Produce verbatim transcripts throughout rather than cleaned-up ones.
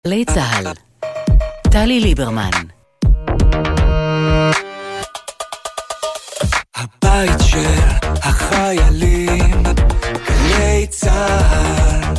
גלי צהל, טלי ליברמן. הבית של החיילים, גלי צהל.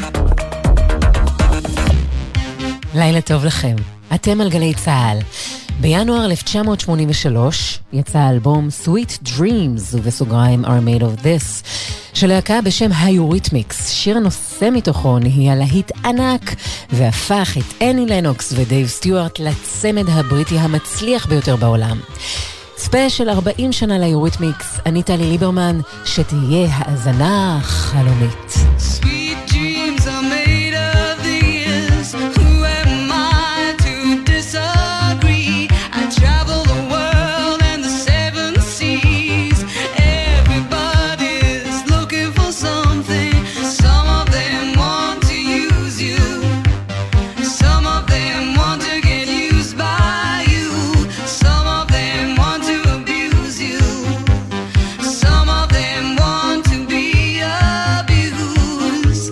לילה טוב לכם, אתם על גלי צהל. בינואר אלף תשע מאות שמונים ושלוש יצא האלבום Sweet Dreams, ובסוגריים Are Made of This, של להקה בשם היוריתמיקס. שיר הנושא מתוכו נהיה להיט ענק, והפך את אני לנוקס ודייב סטיוארט לצמד הבריטי המצליח ביותר בעולם. ספיישל ארבעים שנה ליוריתמיקס, אני טלי ליברמן, שתהיה האזנה חלומית. Sweet dreams are made of these. Who am I to disagree? I travel the world and the seven seas. Everybody's looking for something. Some of them want to use you. Some of them want to get used by you. Some of them want to abuse you. Some of them want to be abused.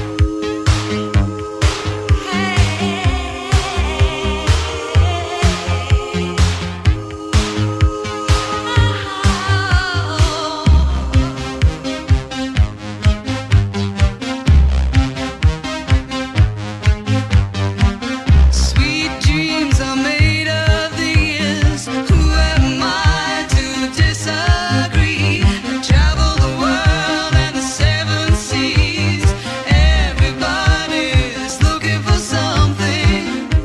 Sweet dreams are made of these. Who am I to disagree? I travel the world and the seven seas. Everybody's looking for something.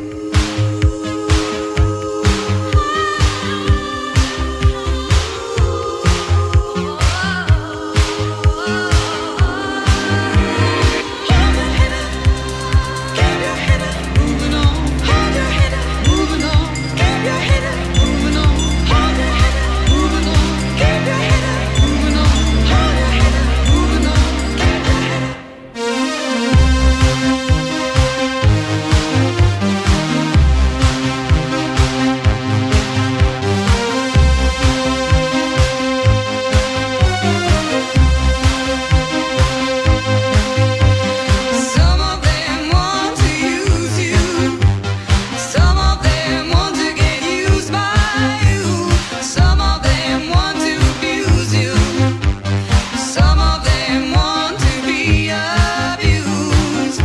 Keep your head up, moving on. Hold your head up, moving on. Keep your head up, moving on. Hold your head up, moving on. Keep your head up, moving on. Hold your head up, moving on. Keep your head up. Some of them want to use you. Some of them want to get used by you. Some of them want to abuse you. Some of them want to be abused.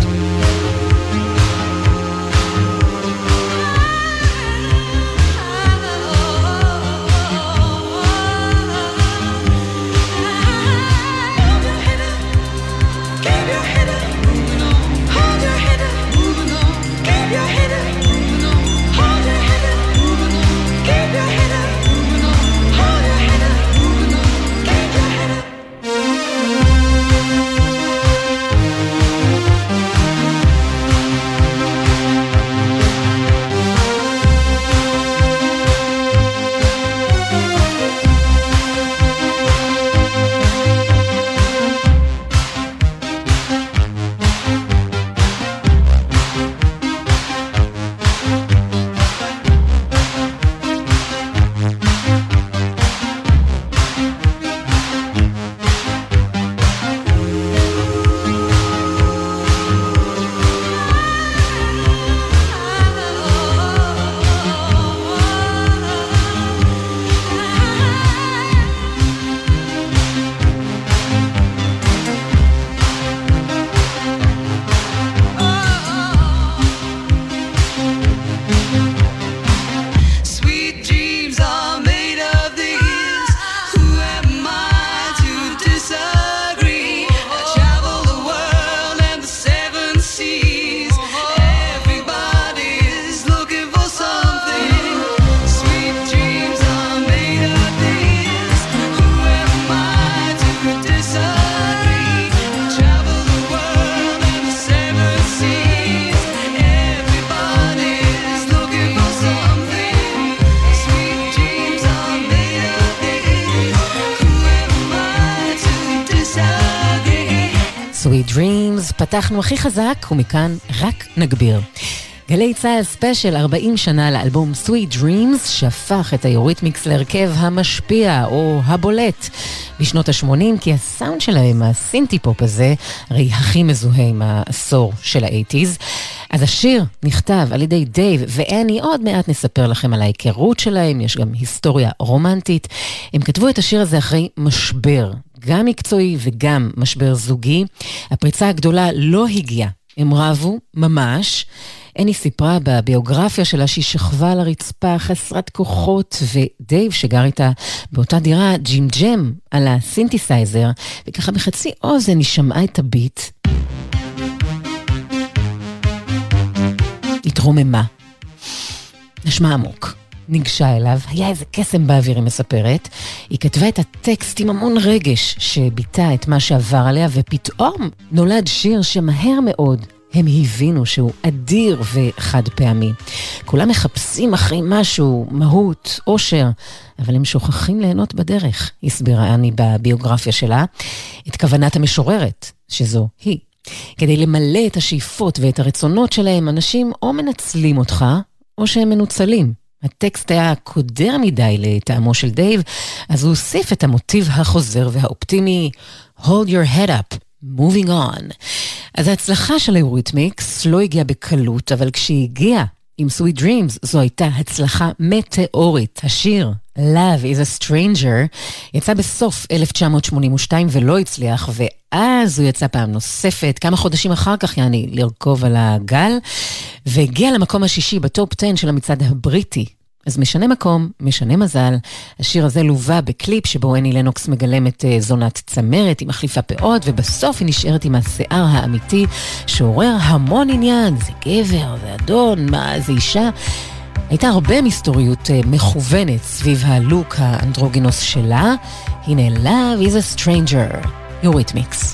Hold your head up. Keep your head up, moving on. Hold your head up, moving on. Keep your head up, moving on. Hold your head up, moving on. Keep your head up, moving on. Hold your head up, moving on. Keep your head up. Sweet dreams are made of these. Who am I to disagree? I travel the world and the seven seas. Everybody's looking for something. Sweet dreams are made of these. Who am I to disagree? I travel the world and the seven seas. Everybody's looking for something. Sweet dreams are made of these. Who am I to disagree? Sweet Dreams, פתחנו הכי חזק ומכאן רק נגביר. גלי צהל ספיישל ארבעים שנה לאלבום Sweet Dreams, שהפך את היוריתמיקס להרכב המשפיע או הבולט בשנות ה-שמונים, כי הסאונד שלהם, הסינטי פופ הזה, הרי הכי מזוהה עם העשור של ה-שמונים. אז השיר נכתב על ידי דייב ואני, עוד מעט נספר לכם על ההיכרות שלהם, יש גם היסטוריה רומנטית. הם כתבו את השיר הזה אחרי משבר, גם מקצועי וגם משבר זוגי. הפריצה הגדולה לא הגיעה, הם רבו ממש. אני סיפרה בביוגרפיה שלה שהיא שכבה על הרצפה חסרת כוחות, ודייב שגר איתה באותה דירה ג'ים-ג'ם על הסינתסייזר, וככה בחצי אוזן היא שמעה את הביט. התרוממה. נשמע עמוק. ניגשה אליו, היה איזה קסם באוויר, היא מספרת. היא כתבה את הטקסט עם המון רגש שביטא את מה שעבר עליה, ופתאום נולד שיר שמהר מאוד הם הבינו שהוא אדיר וחד פעמי. כולם מחפשים אחרי משהו, מהות, אושר, אבל הם שוכחים ליהנות בדרך, הסבירה אני בביוגרפיה שלה, את כוונת המשוררת, שזו היא. כדי למלא את השאיפות ואת הרצונות שלהם, אנשים או מנצלים אותך, או שהם מנוצלים. הטקסט היה קודר מדי לטעמו של דייב, אז הוא הוסיף את המוטיב החוזר והאופטימי, hold your head up, moving on. אז ההצלחה של היוריתמיקס לא הגיעה בקלות, אבל כשהיא הגיעה עם Sweet Dreams, זו הייתה הצלחה מטאורית. השיר Love is a Stranger יצא בסוף אלף תשע מאות שמונים ושתיים ולא הצליח, ואז הוא יצא פעם נוספת, כמה חודשים אחר כך, יעני, לרכוב על הגל, והגיע למקום השישי בטופ עשר של המצעד הבריטי. אז משנה מקום, משנה מזל. השיר הזה לובה בקליפ שבו אני לנוקס מגלמת זונת צמרת, היא מחליפה פאות, ובסוף היא נשארת עם השיער האמיתי, שעורר המון עניין, זה גבר, זה אדון, מה, זה אישה. הייתה הרבה מסתוריות מכוונת סביב הלוק האנדרוגינוס שלה. הנה, Love is a Stranger, Eurythmics.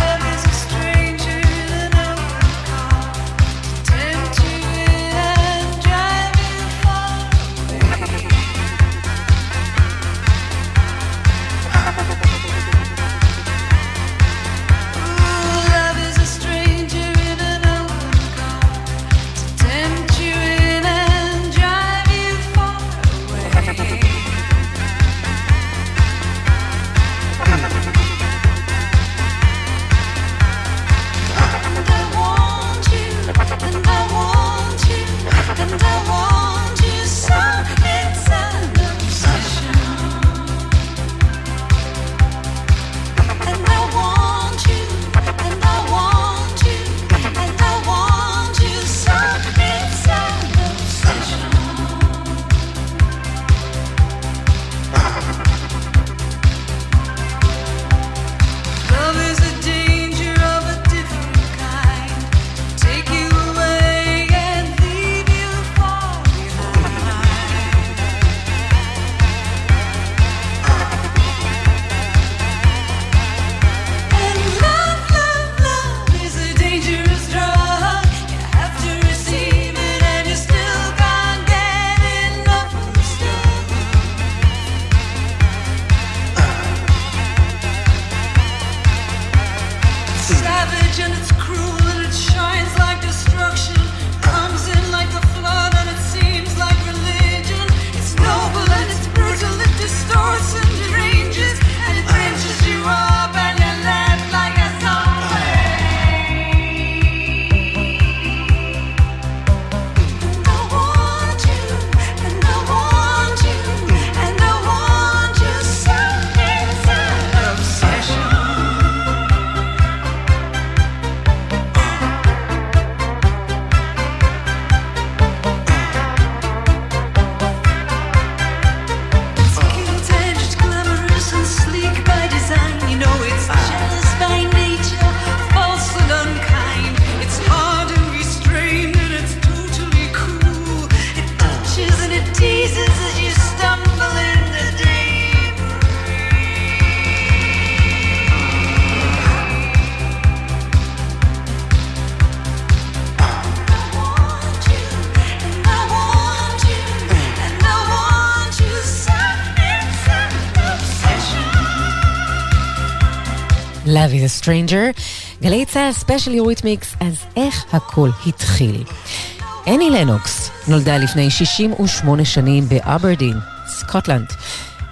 Love is a Stranger, גלי צהל ספיישל יוריתמיקס. אז איך הכל התחיל? אני לנוקס נולדה לפני שישים ושמונה שנים באברדין, סקוטלנד.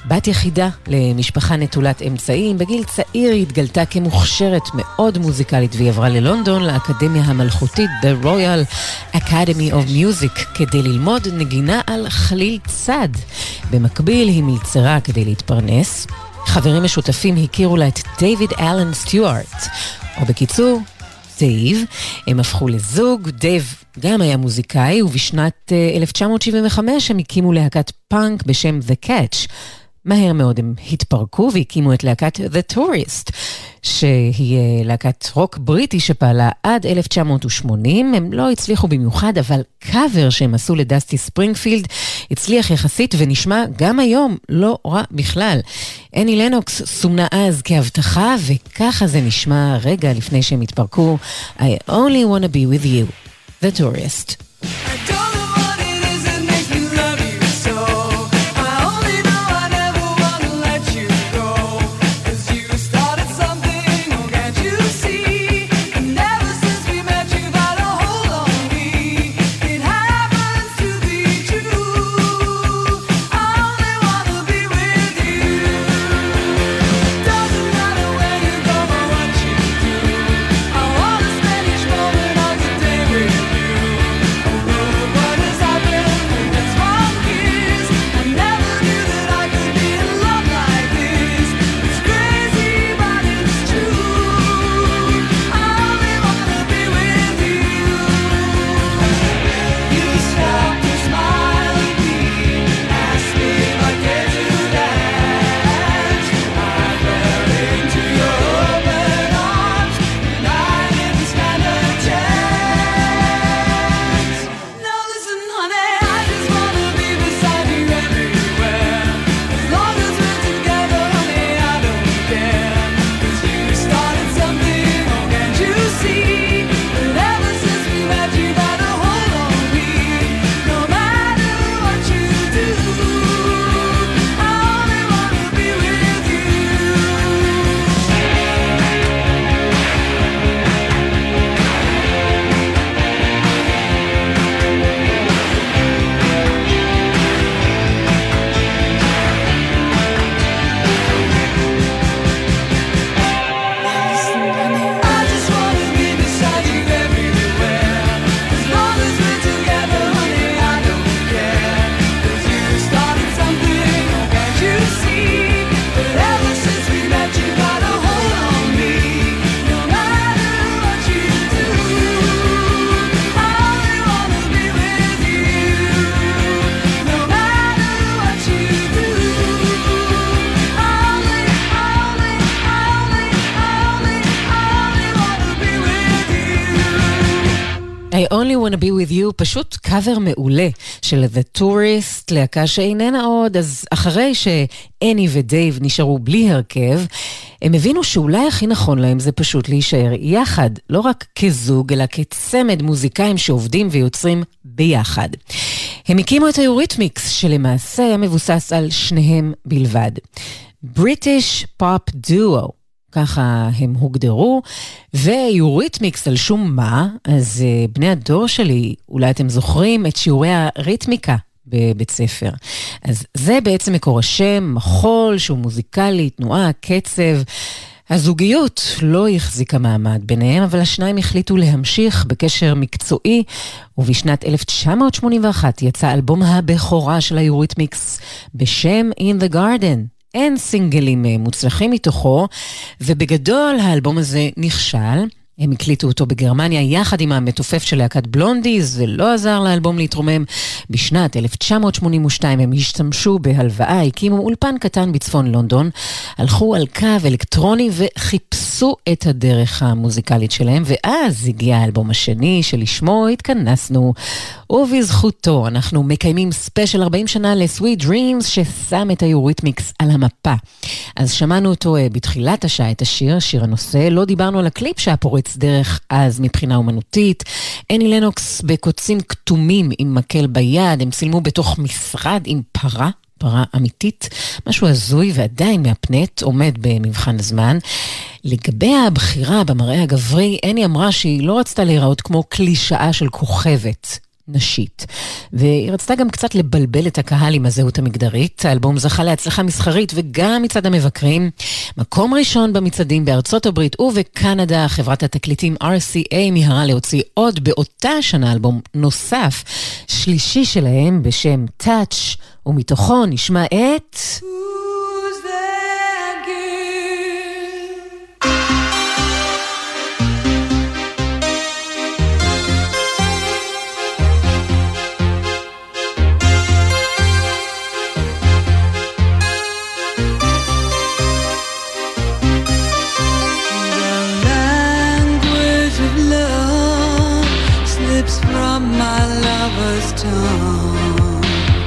בת יחידה למשפחה נטולת אמצעים, בגיל צעיר היא התגלתה כמוכשרת מאוד מוזיקלית והיא עברה ללונדון לאקדמיה המלכותית The Royal Academy of Music כדי ללמוד נגינה על חליל צד. במקביל היא מלצרה כדי להתפרנס. חברים משותפים הכירו לה את דייוויד אלן סטיוארט, או בקיצור דייב. הם הפכו לזוג. דייב גם היה מוזיקאי, ובשנת אלף תשע מאות שבעים וחמש הם הקימו להקת פאנק בשם The Catch. מהר מאוד הם התפרקו והקימו את להקת The Tourist, שהיא להקת רוק בריטי שפעלה עד אלף תשע מאות ושמונים. הם לא הצליחו במיוחד, אבל קאבר שהם עשו לדסטי ספרינגפילד הצליח יחסית ונשמע גם היום לא רע בכלל. אני לנוקס סומנה אז כהבטחה, וככה זה נשמע רגע לפני שהם התפרקו. I only wanna be with you, The Tourist. I only wanna be with you, פשוט קאבר מעולה של The Tourist, להקה שאיננה עוד. אז אחרי שאני ודייב נשארו בלי הרכב, הם הבינו שאולי הכי נכון להם זה פשוט להישאר יחד, לא רק כזוג, אלא כצמד מוזיקאים שעובדים ויוצרים ביחד. הם הקימו את היוריתמיקס, שלמעשה היה מבוסס על שניהם בלבד. British Pop Duo, ככה הם הוגדרו, ויוריתמיקס על שום מה. אז uh, בני הדור שלי, אולי אתם זוכרים את שיעורי הריתמיקה בבית ספר. אז זה בעצם מקור השם, מחול שהוא מוזיקלי, תנועה, קצב. הזוגיות לא החזיקה מעמד ביניהם, אבל השניים החליטו להמשיך בקשר מקצועי, ובשנת אלף תשע מאות שמונים ואחת יצא אלבום הבכורה של היוריתמיקס בשם In the Garden. אין סינגלים מוצלחים מתוכו, ובגדול האלבום הזה נכשל. הם הקליטו אותו בגרמניה יחד עם המתופף של להקת בלונדי, זה לא עזר לאלבום להתרומם. בשנת אלף תשע מאות שמונים ושתיים הם השתמשו בהלוואה, הקימו אולפן קטן בצפון לונדון, הלכו על קו אלקטרוני וחיפשו את הדרך המוזיקלית שלהם, ואז הגיע האלבום השני שלשמו התכנסנו, ובזכותו אנחנו מקיימים ספיישל ארבעים שנה ל-Sweet Dreams ששם את היוריתמיקס על המפה. אז שמענו אותו בתחילת השעה, את השיר, שיר הנושא, לא דיברנו על הקליפ שהפורץ דרך אז מבחינה אומנותית. אני לנוקס בקוצים כתומים עם מקל ביד, הם צילמו בתוך משרד עם פרה, פרה אמיתית, משהו הזוי ועדיין מהפנט, עומד במבחן הזמן. לגבי הבחירה במראה הגברי, אני אמרה שהיא לא רצתה להיראות כמו קלישאה של כוכבת. נשית. והיא רצתה גם קצת לבלבל את הקהל עם הזהות המגדרית. האלבום זכה להצלחה מסחרית וגם מצד המבקרים. מקום ראשון במצעדים בארצות הברית ובקנדה. חברת התקליטים אר סי איי מיהרה להוציא עוד באותה שנה אלבום נוסף, שלישי שלהם בשם Touch, ומתוכו נשמע את... From my lover's tongue,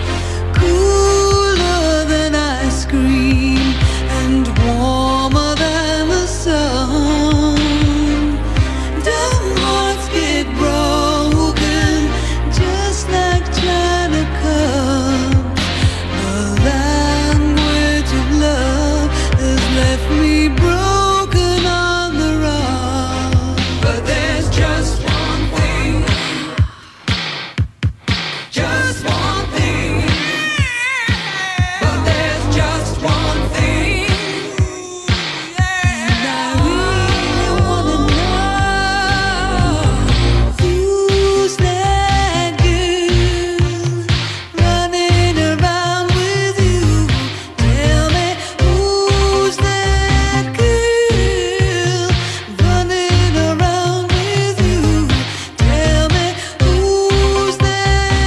cooler than ice cream and warmer than the sun. Dumb hearts get broken just like china cups. The language of love has left me broken on the run. But there's just one thing. Just one thing, but there's just one thing, and I really wanna know who's that girl running around with you. Tell me who's that girl running around with you. Tell me who's that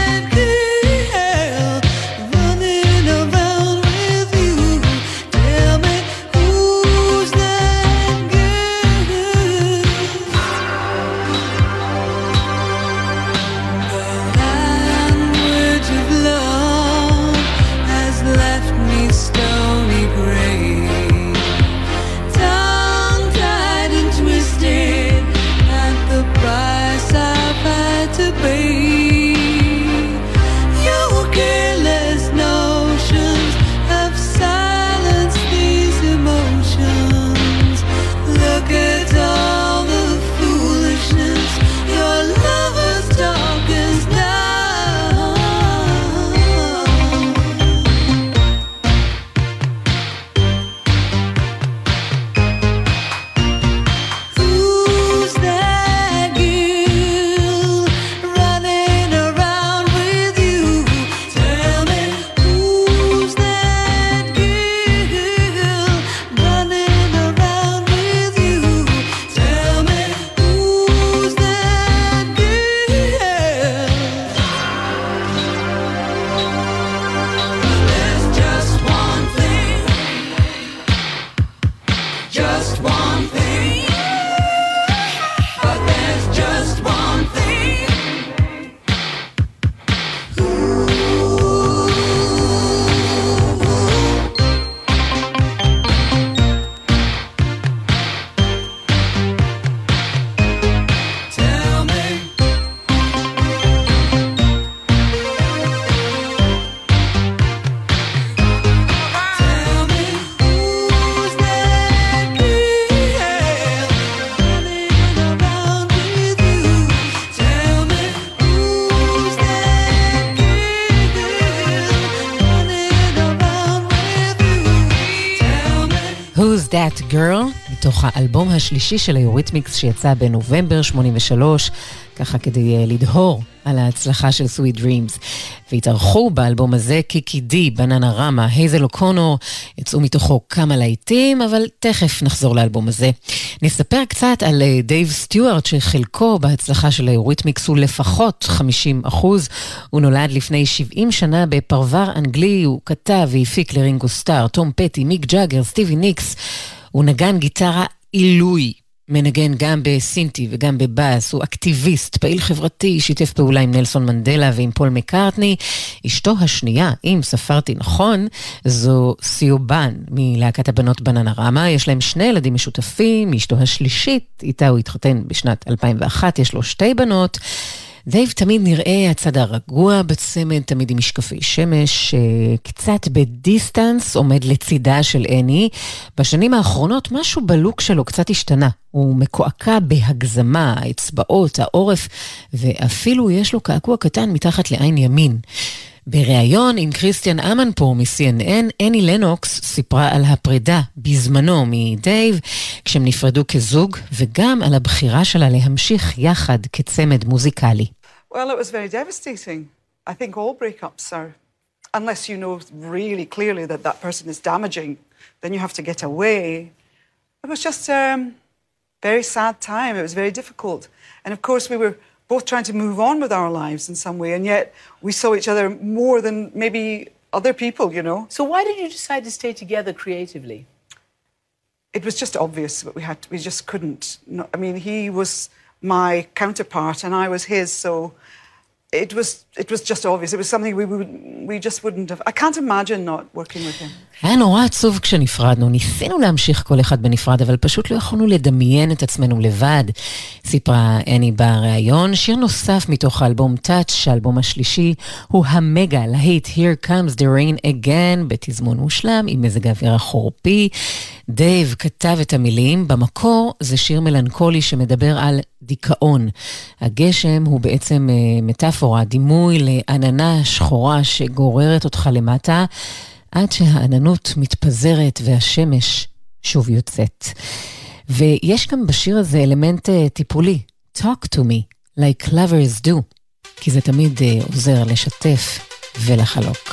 Who's That Girl, מתוך האלבום השלישי של היוריתמיקס שיצא בנובמבר שמונים ושלוש, ככה כדי לדהור על ההצלחה של Sweet Dreams. והתארחו באלבום הזה קיקי די, בננה רמה, הייזל אוקונור, יצאו מתוכו כמה להיטים, אבל תכף נחזור לאלבום הזה. נספר קצת על דייב סטיוארט, שחלקו בהצלחה של היוריתמיקס הוא לפחות חמישים אחוז. הוא נולד לפני שבעים שנה בפרבר אנגלי, הוא כתב והפיק לרינגו סטאר, תום פטי, מיק ג'אגר, סטיבי ניקס. הוא נגן גיטרה עילוי. מנגן גם בסינטי וגם בבאס, הוא אקטיביסט, פעיל חברתי, שיתף פעולה עם נלסון מנדלה ועם פול מקארטני. אשתו השנייה, אם ספרתי נכון, זו סיובן מלהקת הבנות בננה רמה. יש להם שני ילדים משותפים, אשתו השלישית, איתה הוא התחתן בשנת אלפיים ואחת, יש לו שתי בנות. דייב תמיד נראה הצד הרגוע בצמד, תמיד עם משקפי שמש, קצת בדיסטנס, עומד לצידה של אני. בשנים האחרונות משהו בלוק שלו קצת השתנה. הוא מקועקע בהגזמה, האצבעות, העורף, ואפילו יש לו קעקוע קטן מתחת לעין ימין. בריאיון עם קריסטיאן אמנפור מ-סי אן אן, אני לנוקס סיפרה על הפרידה בזמנו מדייב, כשהם נפרדו כזוג, וגם על הבחירה שלה להמשיך יחד כצמד מוזיקלי. Well, it was very devastating. I think all breakups are, unless you know really clearly that that person is damaging, then you have to get away. It was just a um, very sad time. It was very difficult. And of course we were both trying to move on with our lives in some way, and yet we saw each other more than maybe other people, you know. So why did you decide to stay together creatively? It was just obvious that we had to, we just couldn't. No, I mean, he was my counterpart and I was his, so it was it was just obvious. It was something we would we just wouldn't have. I can't imagine not working with him. היה נורא עצוב כשנפרדנו, ניסינו להמשיך כל אחד בנפרד, אבל פשוט לא יכולנו לדמיין את עצמנו לבד. סיפרה אני בריאיון, שיר נוסף מתוך האלבום Touch, האלבום השלישי, הוא המגה להיט Here Comes the Rain Again, בתזמון מושלם, עם מזג האוויר החורפי. דייב כתב את המילים, במקור זה שיר מלנכולי שמדבר על דיכאון. הגשם הוא בעצם מטאפורה, דימוי לעננה שחורה שגוררת אותך למטה, עד שהעננות מתפזרת והשמש שוב יוצאת. ויש גם בשיר הזה אלמנט טיפולי, talk to me, like lovers do, כי זה תמיד עוזר לשתף ולחלוק.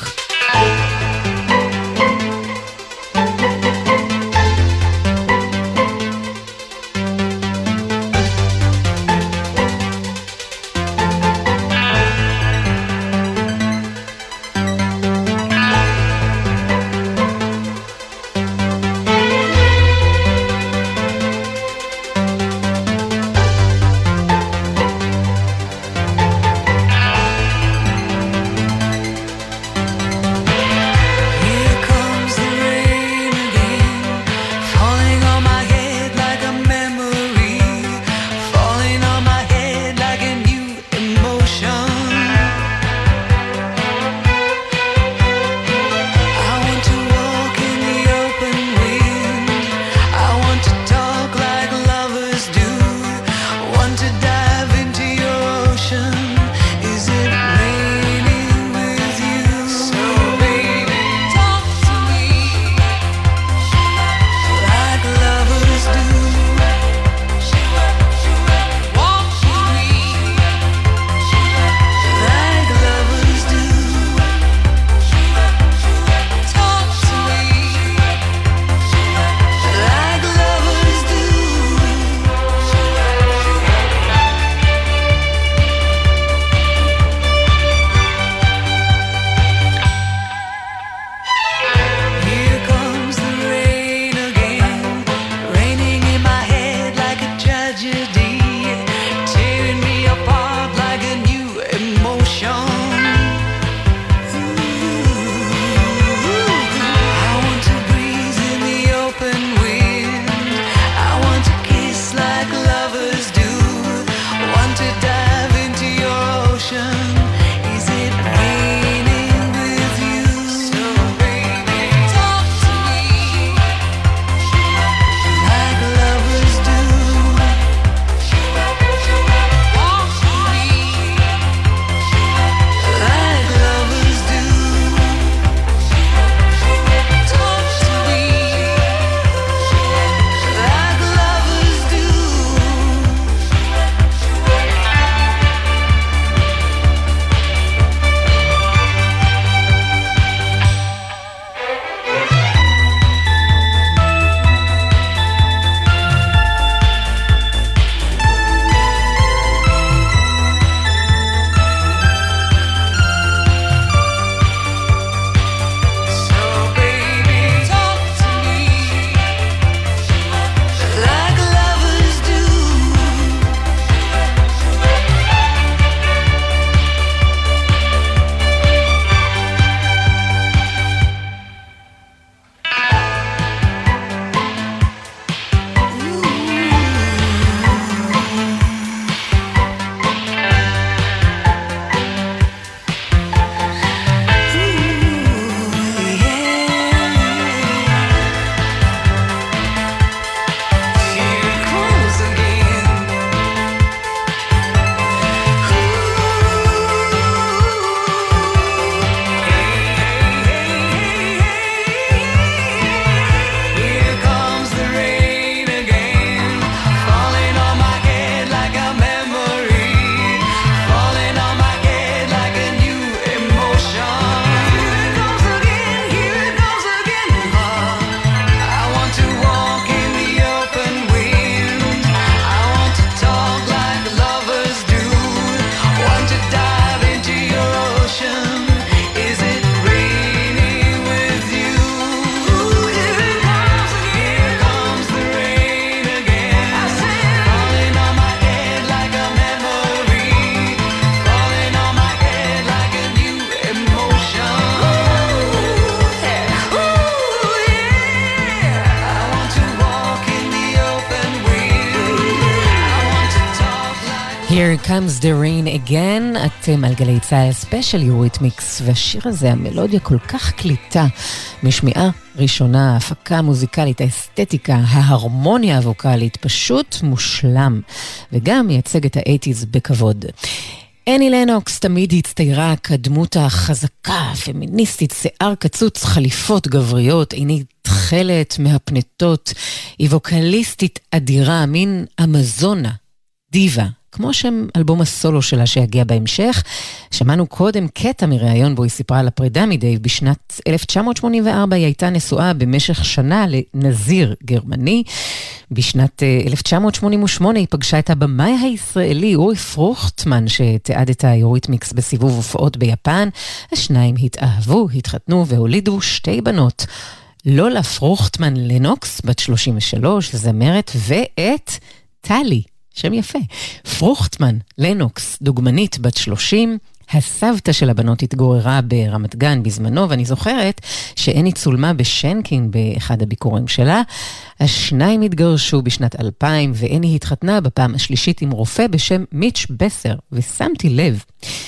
Here comes the rain again, אתם על גלי צהל ספיישל יוריתמיקס, והשיר הזה, המלודיה כל כך קליטה, משמיעה ראשונה, ההפקה המוזיקלית, האסתטיקה, ההרמוניה הווקלית, פשוט מושלם, וגם מייצג את ה-שמונים בכבוד. אני לנוקס תמיד הצטיירה כדמות החזקה, פמיניסטית, שיער קצוץ, חליפות גבריות, עינית תכלת מהפנטות, היא ווקליסטית אדירה, מין אמזונה, דיבה, כמו שם אלבום הסולו שלה שיגיע בהמשך. שמענו קודם קטע מראיון בו היא סיפרה על הפרידה מדייב. בשנת אלף תשע מאות שמונים וארבע היא הייתה נשואה במשך שנה לנזיר גרמני. בשנת אלף תשע מאות שמונים ושמונה היא פגשה את הבמאי הישראלי אורי פרוכטמן, שתיעד את היוריתמיקס בסיבוב הופעות ביפן. השניים התאהבו, התחתנו והולידו שתי בנות. לולה פרוכטמן לנוקס, בת שלושים ושלוש, זמרת, ואת טלי, שם יפה, פרוכטמן לנוקס, דוגמנית בת שלושים, הסבתא של הבנות התגוררה ברמת גן בזמנו, ואני זוכרת שאני צולמה בשנקין באחד הביקורים שלה. השניים התגרשו בשנת אלפיים, ואני התחתנה בפעם השלישית עם רופא בשם מיץ' בסר, ושמתי לב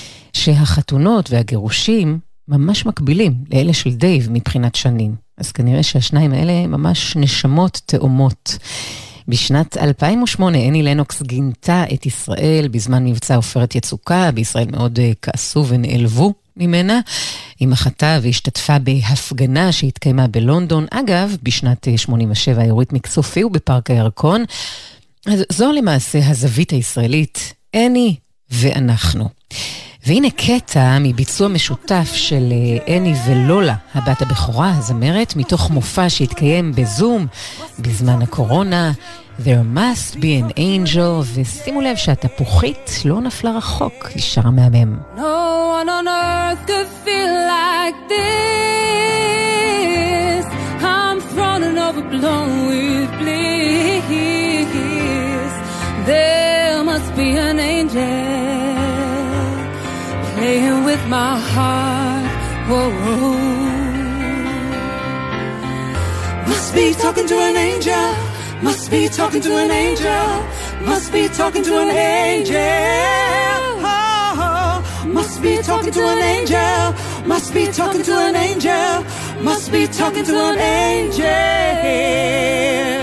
שהחתונות והגירושים ממש מקבילים לאלה של דייב מבחינת שנים. אז כנראה שהשניים האלה ממש נשמות תאומות. בשנת אלפיים ושמונה אני לנוקס גינתה את ישראל בזמן מבצע עופרת יצוקה. בישראל מאוד כעסו ונעלבו ממנה. היא מחתה והשתתפה בהפגנה שהתקיימה בלונדון. אגב, בשנת שמונים ושבע היוריתמיקס הופיעו בפארק הירקון. אז זו למעשה הזווית הישראלית, אני ואנחנו. והנה קטע מביצוע משותף של אני ולולה, הבת הבכורה, הזמרת, מתוך מופע שהתקיים בזום בזמן הקורונה. There must be an angel, ושימו לב שהתפוחית לא נפלה רחוק, היא שרה מהמם. No one on earth could feel like this. I'm thrown and overblown with bliss. There must be an angel playing with my heart. Whoa, whoa. Must be talking to an angel. Must be talking to an angel. Must be talking to an angel. Oh, must be talking to an angel. Must be talking to an angel. Must be talking to an angel.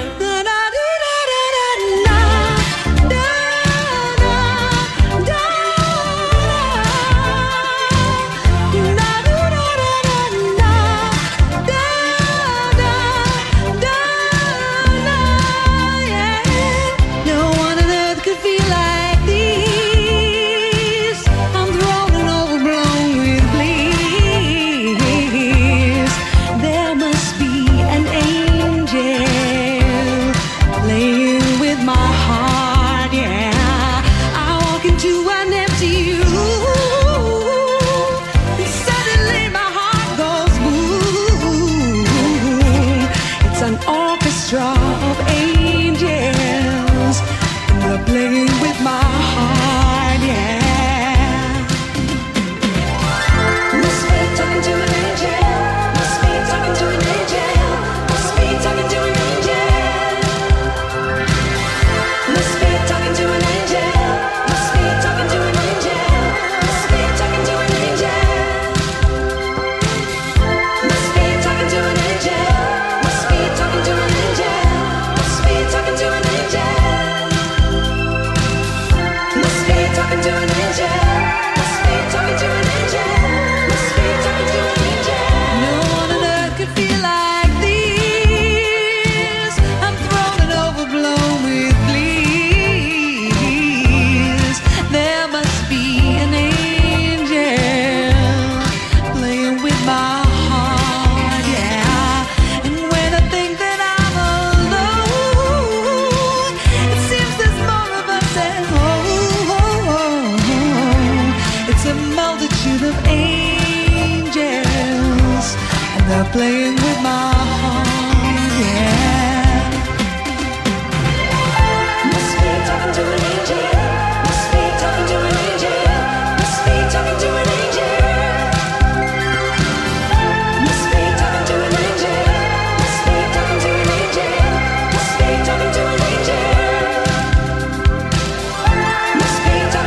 Playing with my heart, yeah. Must be talking to an angel. Must be talking to an angel. Must be talking to an angel. Must be talking to an angel. Must be talking to an angel. Must be talking to an angel. Must be talking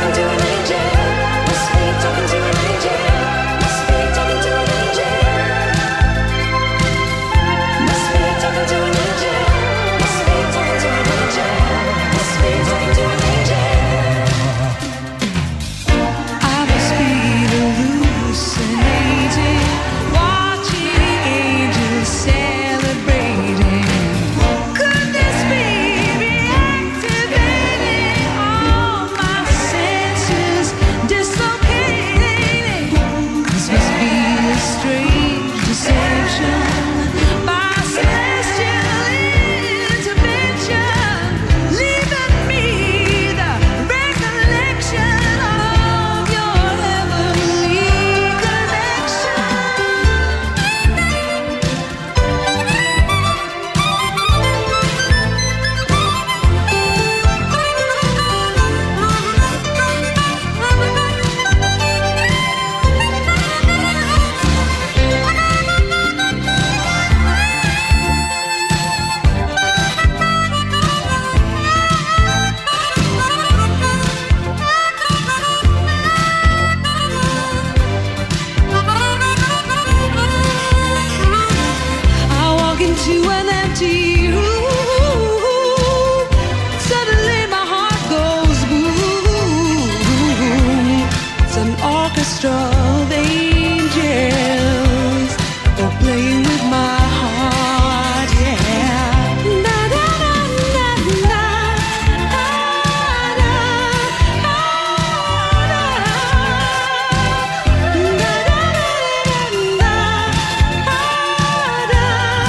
orchestra of angels, oh, playing with my heart, yeah. Da da da da da, ah, da, ah, da, da da da da, ah, da,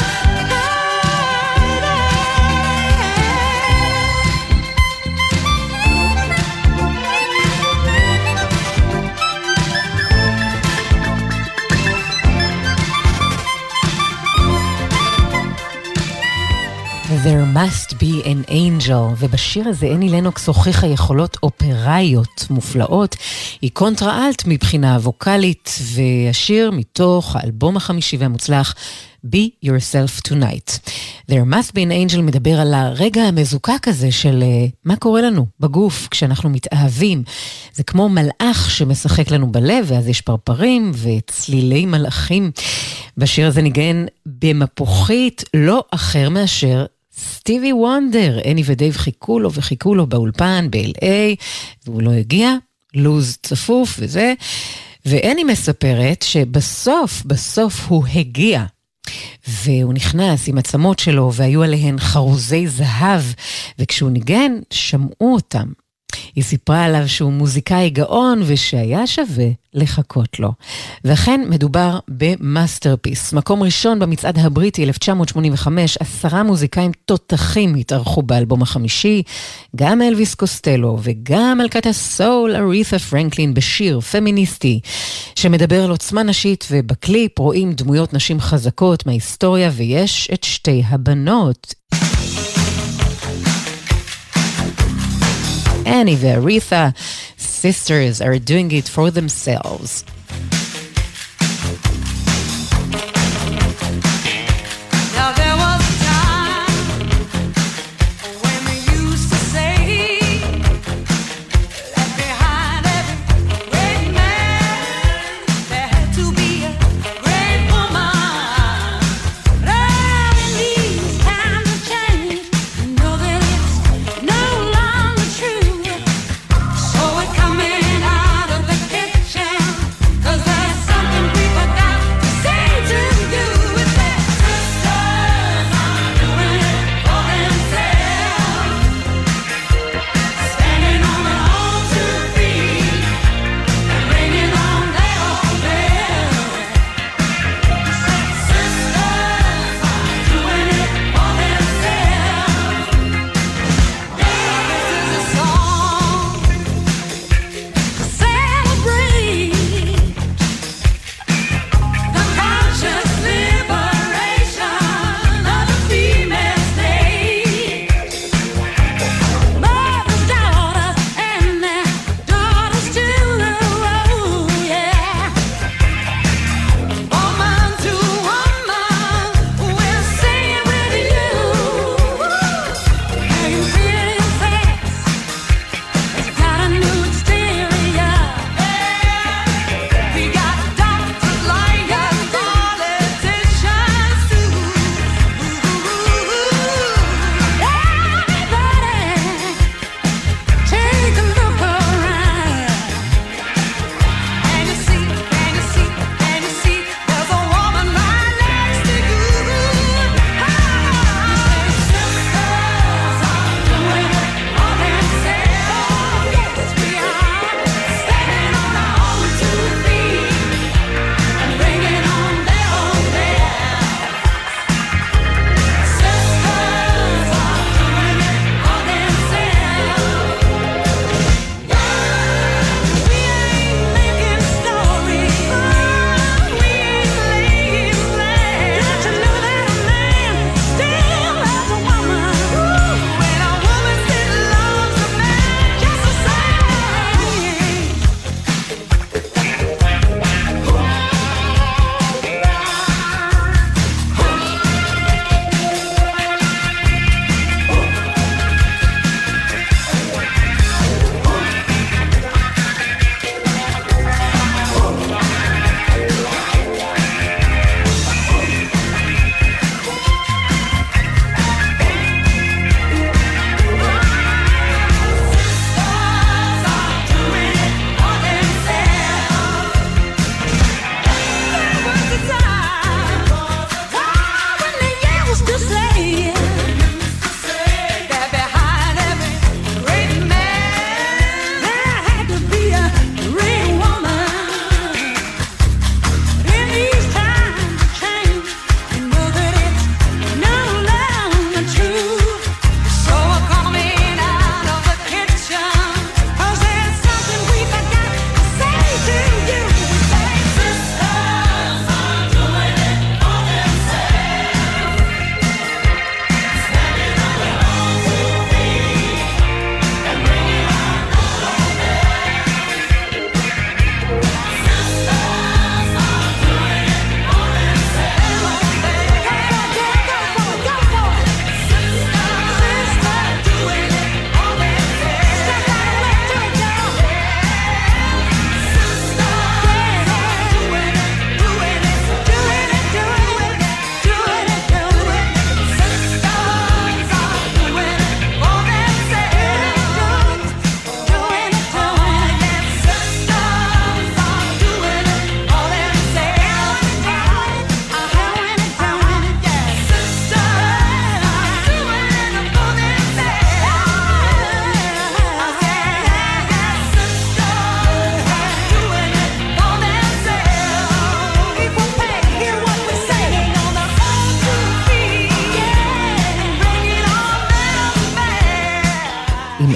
There must be an angel, ובשיר הזה אני לנוקס הוכיחה יכולות אופראיות מופלאות, היא קונטרה-אלט מבחינה ווקלית, והשיר מתוך האלבום החמישי והמוצלח Be Yourself Tonight. There must be an angel מדבר על הרגע המזוקק הזה של uh, מה קורה לנו בגוף כשאנחנו מתאהבים. זה כמו מלאך שמשחק לנו בלב, ואז יש פרפרים וצלילי מלאכים. בשיר הזה ניגן במפוחית לא אחר מאשר סטיבי וונדר. אני ודייב חיכו לו וחיכו לו באולפן ב-אל איי, והוא לא הגיע, לוז צפוף וזה, ואני מספרת שבסוף, בסוף הוא הגיע, והוא נכנס עם עצמות שלו, והיו עליהן חרוזי זהב, וכשהוא ניגן, שמעו אותם. היא סיפרה עליו שהוא מוזיקאי גאון, ושהיה שווה לחכות לו. ואכן מדובר במאסטרפיס. מקום ראשון במצעד הבריטי אלף תשע מאות שמונים וחמש, עשרה מוזיקאים תותחים התארחו באלבום החמישי, גם אלוויס קוסטלו, וגם מלכת הסול ארית'ה פרנקלין בשיר פמיניסטי, שמדבר על עוצמה נשית, ובקליפ רואים דמויות נשים חזקות מההיסטוריה, ויש את שתי הבנות. Annie and Aretha, sisters, are doing it for themselves. Now there was a time when we used to say that behind every great man there had to be a great woman. But in these times of change, you know that it's no longer true. So we're coming out of the kitchen, 'cause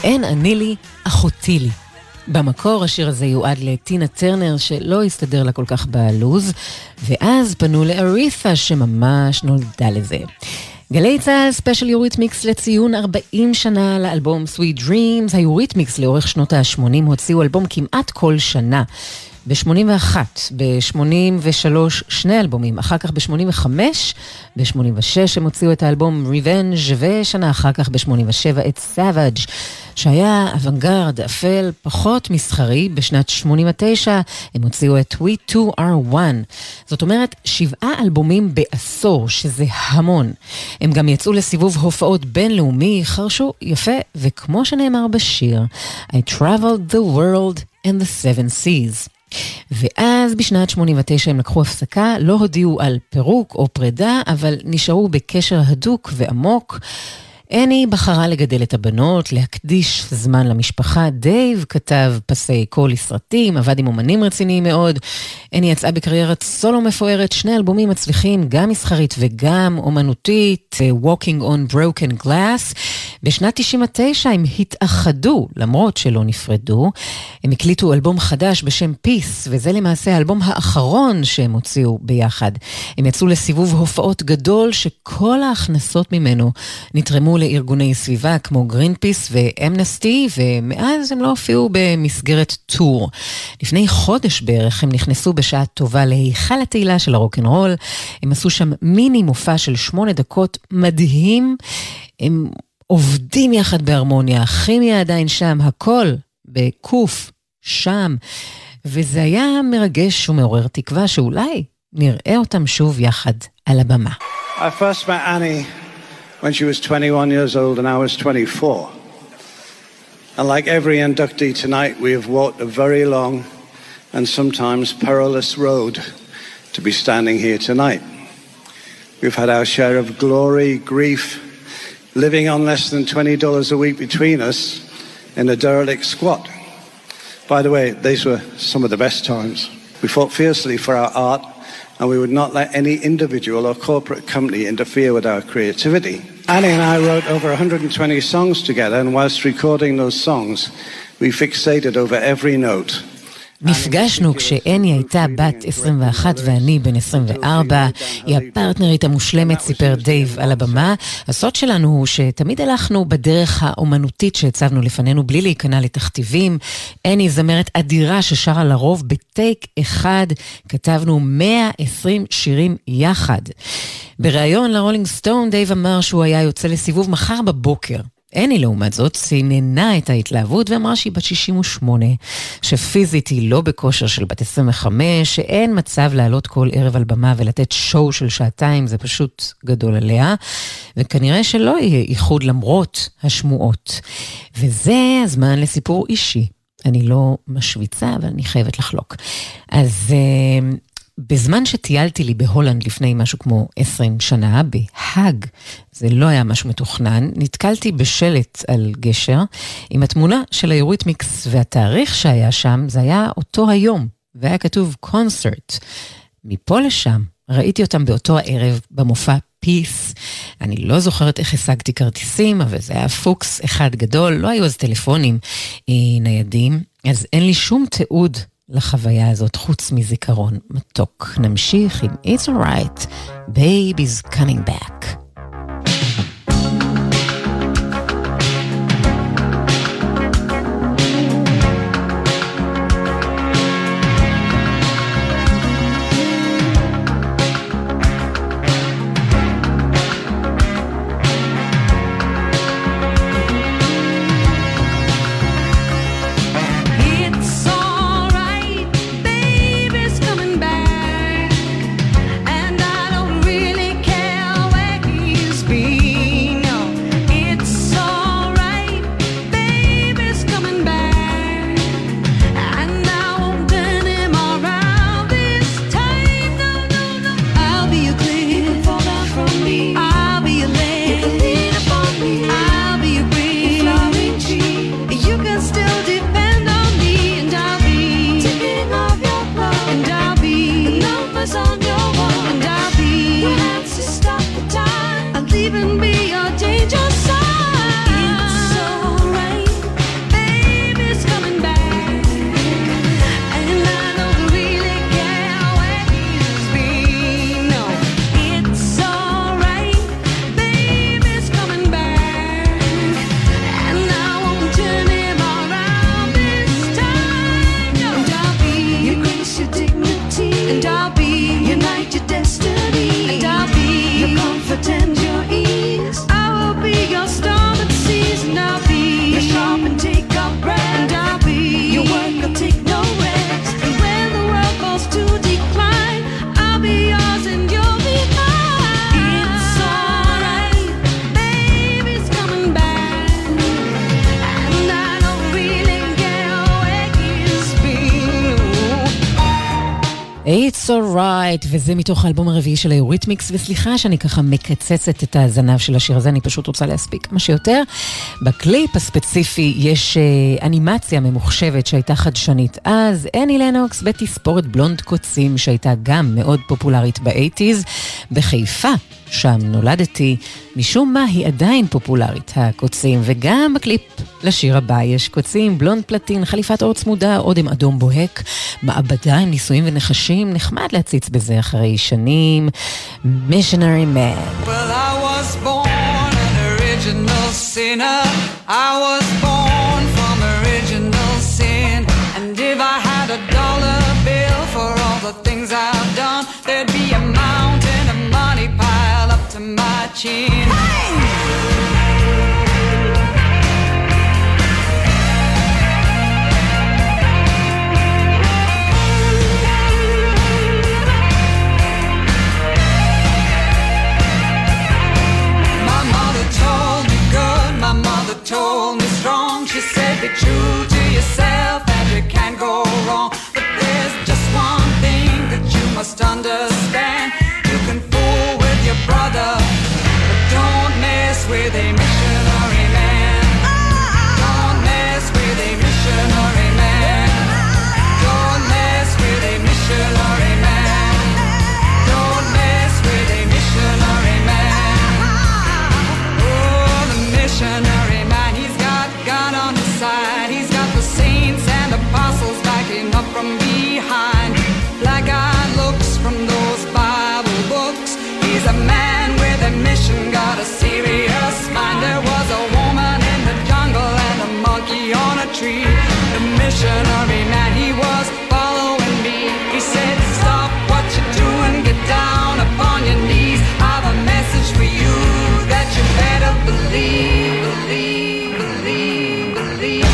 אין אני לי, אחותי לי. במקור השיר הזה יועד לטינה טרנר שלא הסתדר לה כל כך בלוז, ואז פנו לארית'ה שממש נולדה לזה. גלי צהל ספיישל יוריתמיקס לציון ארבעים שנה לאלבום Sweet Dreams. היוריתמיקס לאורך שנות ה-שמונים הוציאו אלבום כמעט כל שנה. ב-שמונים ואחת, ב-שמונים ושלוש שני אלבומים, אחר כך ב-שמונים וחמש, ב-שמונים ושש הם הוציאו את האלבום Revenge, ושנה אחר כך ב-שמונים ושבע את Savage, שהיה אוונגרד אפל פחות מסחרי. בשנת שמונים ותשע הם הוציאו את We two are one. זאת אומרת, שבעה אלבומים בעשור, שזה המון. הם גם יצאו לסיבוב הופעות בינלאומי, חרשו יפה, וכמו שנאמר בשיר, I traveled the world and the seven seas. ואז בשנת שמונים ותשע הם לקחו הפסקה, לא הודיעו על פירוק או פרידה, אבל נשארו בקשר הדוק ועמוק. אני בחרה לגדל את הבנות, להקדיש זמן למשפחה. דייב כתב פסי קול לסרטים, עבד עם אומנים רציניים מאוד. אני יצאה בקריירת סולו מפוארת, שני אלבומים מצליחים, גם מסחרית וגם אומנותית, Walking on Broken Glass. בשנת תשעים ותשע הם התאחדו, למרות שלא נפרדו. הם הקליטו אלבום חדש בשם Peace, וזה למעשה האלבום האחרון שהם הוציאו ביחד. הם יצאו לסיבוב הופעות גדול, שכל ההכנסות ממנו נתרמו לארגוני סביבה כמו גרינפיס ואמנסטי, ומאז הם לא הופיעו במסגרת טור. לפני חודש בערך הם נכנסו בשעה טובה להיכל התהילה של הרוק'נ'רול. הם עשו שם מיני מופע של שמונה דקות מדהים. הם עובדים יחד בהרמוניה, הכימיה עדיין שם, הכל בקוף שם, וזה היה מרגש ומעורר תקווה שאולי נראה אותם שוב יחד על הבמה. I first met Annie when she was twenty-one years old and I was twenty-four. And like every inductee tonight, we have walked a very long and sometimes perilous road to be standing here tonight. We've had our share of glory, grief, living on less than twenty dollars a week between us in a derelict squat. By the way, these were some of the best times. We fought fiercely for our art, and we would not let any individual or corporate company interfere with our creativity. Annie and I wrote over one hundred twenty songs together, and whilst recording those songs, we fixated over every note. נפגשנו כשאני הייתה בת עשרים ואחת ואני בן עשרים וארבע, היא הפרטנרית המושלמת, סיפר דייב על הבמה. הסוד שלנו הוא שתמיד הלכנו בדרך האומנותית שהצבנו לפנינו בלי להיכנע לתכתיבים. אני זמרת אדירה ששרה לרוב בטייק אחד, כתבנו מאה ועשרים שירים יחד. בריאיון לרולינג סטון דייב אמר שהוא היה יוצא לסיבוב מחר בבוקר. אני לעומת זאת סיננה את ההתלהבות ואמרה שהיא בת שישים ושמונה, שפיזית היא לא בכושר של בת עשרים וחמש, שאין מצב לעלות כל ערב על במה ולתת שואו של שעתיים, זה פשוט גדול עליה, וכנראה שלא יהיה איחוד למרות השמועות. וזה הזמן לסיפור אישי. אני לא משוויצה, אבל אני חייבת לחלוק. אז בזמן שטיילתי לי בהולנד לפני משהו כמו עשרים שנה, בהאג, זה לא היה משהו מתוכנן, נתקלתי בשלט על גשר עם התמונה של היוריתמיקס, והתאריך שהיה שם זה היה אותו היום, והיה כתוב קונצרט. מפה לשם ראיתי אותם באותו הערב במופע פיס. אני לא זוכרת איך השגתי כרטיסים, אבל זה היה פוקס אחד גדול, לא היו אז טלפונים אה, ניידים, אז אין לי שום תיעוד לחוויה הזאת חוץ מזיכרון מתוק. נמשיך עם It's Alright, Baby's Coming Back. Coming back, and I don't really care where he and I'll be your night, your destiny, and I'll be your comfort and your ease. I will be your storm and seas, and I'll be your sharp and take a breath, and I'll be your work, I'll take no rest. And when the world falls to decline, I'll be yours and you'll be mine. It's alright, baby's coming back, and I don't really care where he's been. It's alright, וזה מתוך האלבום הרביעי של היוריתמיקס, וסליחה שאני ככה מקצצת את הזנב של השיר הזה, אני פשוט רוצה להספיק כמה שיותר. בקליפ הספציפי יש אה, אנימציה ממוחשבת שהייתה חדשנית אז, אני לנוקס בתספורת בלונד קוצים שהייתה גם מאוד פופולרית ב-שמונים, בחיפה, שם נולדתי, משום מה היא עדיין פופולרית, הקוצים, וגם בקליפ לשיר הבא יש קוצים, בלונד פלטין, חליפת אור צמודה, אודם אדום בוהק, מעבדה עם ניסויים ונחשים, נחמד להציץ בזה אחרי שנים. Missionary Man. Well, I was born an original sinner. I was born from original sin. And if I had a dollar bill for all the things I've done, there'd be a mountain of money piled up to my chin. Told me strong, she said be true to yourself and you can't go wrong. But there's just one thing that you must understand. You can fool with your brother, but don't mess with a missionary man. Don't mess with a missionary man. Don't mess with a missionary man. Don't mess with a missionary man. Oh, the missionary man, he's got God on his side. He's got the saints and apostles backing up from behind. Black-eyed looks from those Bible books. He's a man with a mission, got a serious mind. There was a woman in the jungle and a monkey on a tree. The missionary man, he was following me. He said, stop what you're doing, get down upon your knees. I have a message for you that you better believe, believe, believe, believe.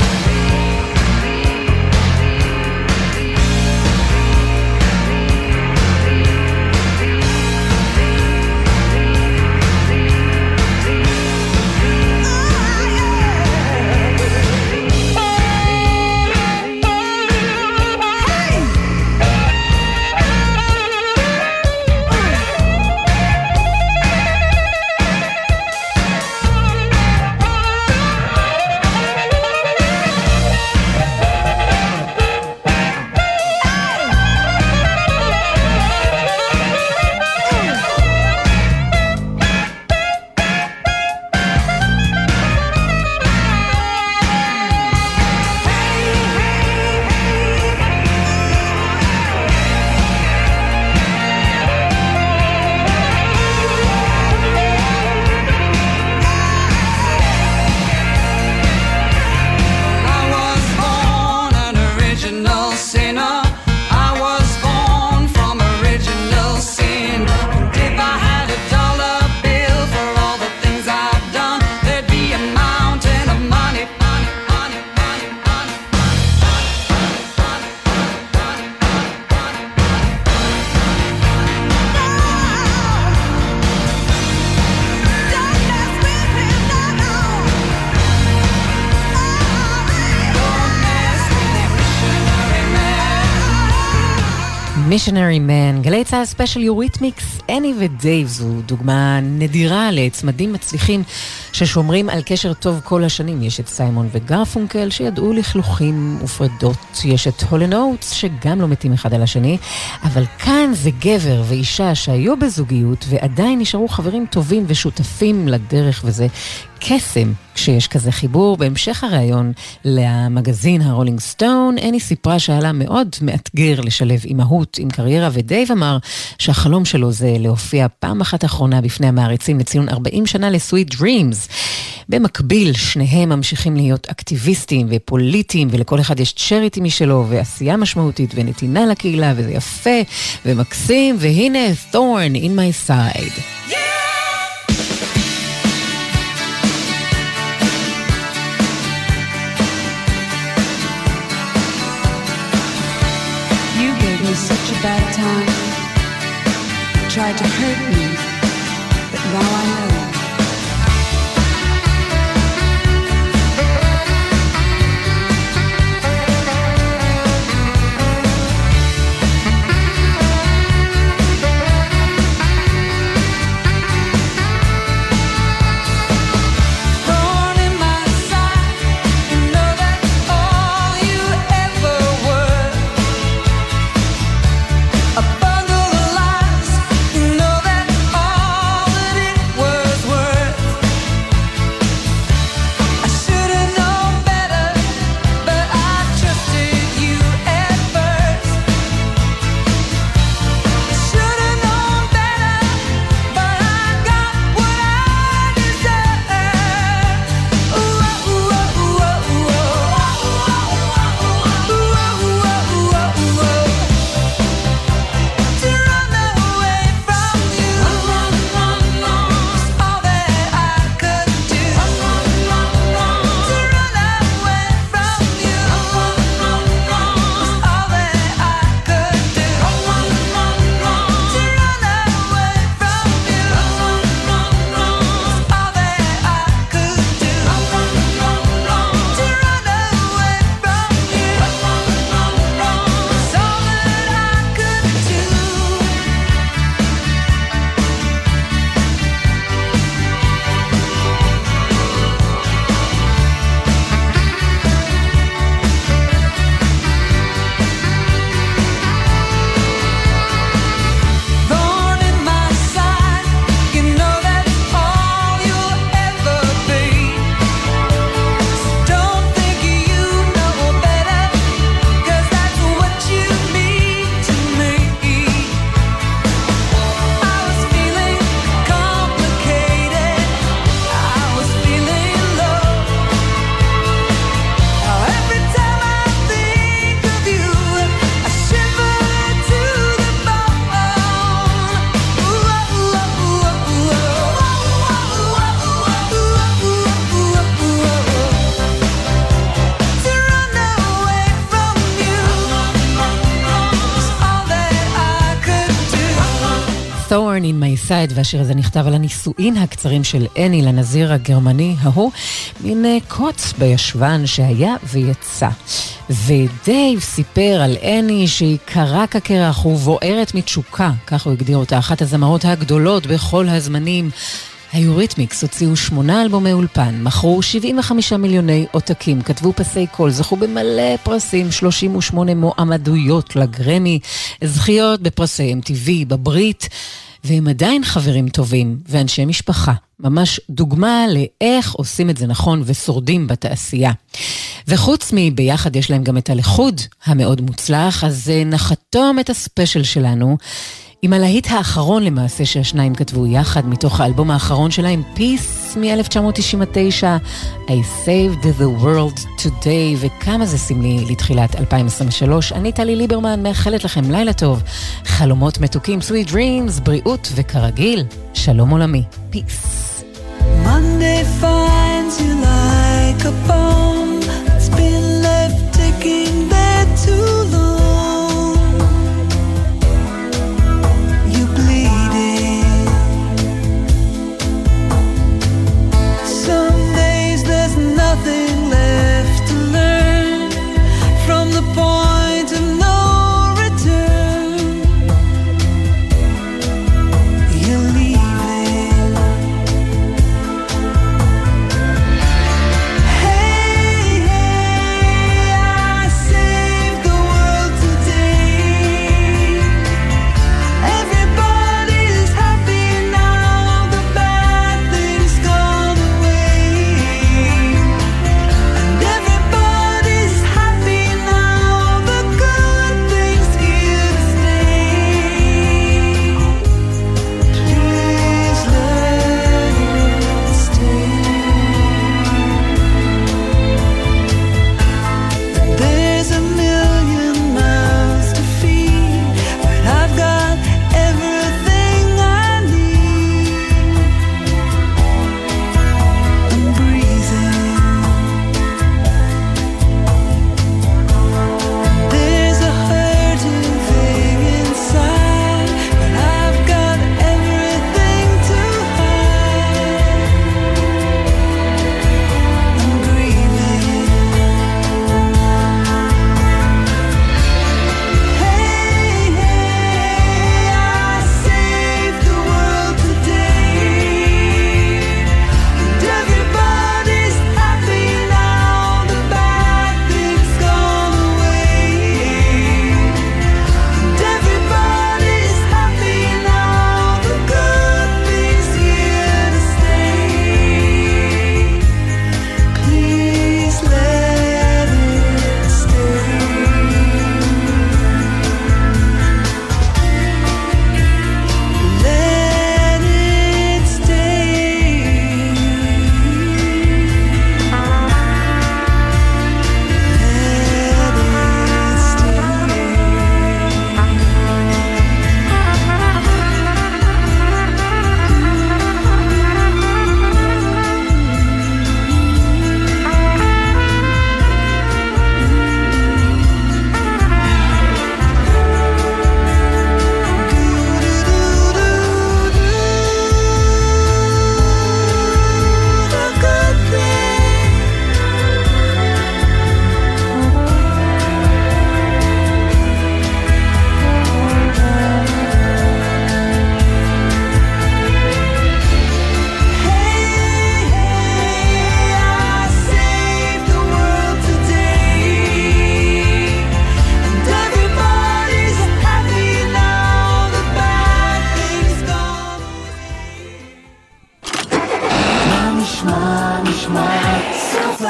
Missionary Man, גלי צהל ספיישל יוריתמיקס, אני ודייב, זו דוגמה נדירה לצמדים מצליחים ששומרים על קשר טוב כל השנים. יש את סיימון וגרפונקל שידעו לכלוכים ופרדות, יש את הול אנד אוטס שגם לא מתים אחד על השני, אבל כאן זה גבר ואישה שהיו בזוגיות ועדיין נשארו חברים טובים ושותפים לדרך, וזה קסם כשיש כזה חיבור. בהמשך הראיון למגזין הרולינג סטון, אני סיפרה שעלה מאוד מאתגר לשלב אימהות עם קריירה, ודייב אמר שהחלום שלו זה להופיע פעם אחת אחרונה בפני המעריצים לציון ארבעים שנה לסוויט דרימס. במקביל, שניהם ממשיכים להיות אקטיביסטים ופוליטיים, ולכל אחד יש צ'ריטי משלו, ועשייה משמעותית ונתינה לקהילה, וזה יפה ומקסים, והנה Thorn in my side. Such a bad time, tried to hurt me, but now I know. Thorn in my side, והשיר הזה נכתב על הנישואין הקצרים של אני לנזיר הגרמני ההוא, מין קוץ בישבן שהיה ויצא. ודייב סיפר על אני שהיא קרה כקרח ובוערת מתשוקה, כך הוא הגדיר אותה, אחת הזמרות הגדולות בכל הזמנים. היוריתמיקס הוציאו שמונה אלבומי אולפן, מכרו שבעים וחמישה מיליוני עותקים, כתבו פסי קול, זכו במלא פרסים, שלושים ושמונה מועמדויות לגרמי, זכיות בפרסי אם טי וי, בברית, והם עדיין חברים טובים ואנשי משפחה. ממש דוגמה לאיך עושים את זה נכון ושורדים בתעשייה. וחוץ מביחד יש להם גם את הלחוד המאוד מוצלח, אז נחתום את הספיישל שלנו עם הלהיט האחרון למעשה שהשניים כתבו יחד מתוך האלבום האחרון שלהם, Peace מ-אלף תשע מאות תשעים ותשע, I Saved the World Today, וכמה זה סמלי לתחילת אלפיים עשרים ושלוש. אני טלי ליברמן, מאחלת לכם לילה טוב, חלומות מתוקים, sweet dreams, בריאות וכרגיל, שלום עולמי, Peace. Monday finds you like a bomb that's been left ticking there too long. Nothing left to learn from the point of no return. You're leaving. Hey, hey, I saved the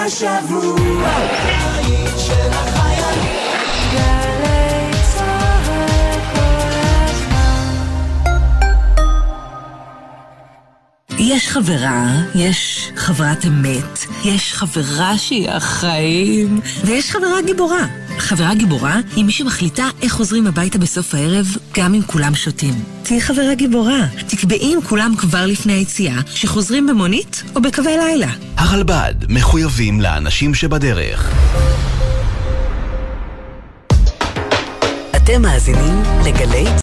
השבוע. היית של החיילים. גלי צהל כל הזמן. יש חברה, יש חברת אמת, יש חברה שהיא החיים, ויש חברה גיבורה. חברה גיבורה היא מי שמחליטה איך חוזרים הביתה בסוף הערב, גם אם כולם שותים. תהי חברה גיבורה. תקבעי עם כולם כבר לפני היציאה, שחוזרים במונית או בקווי לילה. הרלב"ד מחויבים לאנשים שבדרך. אתם מאזינים לגלי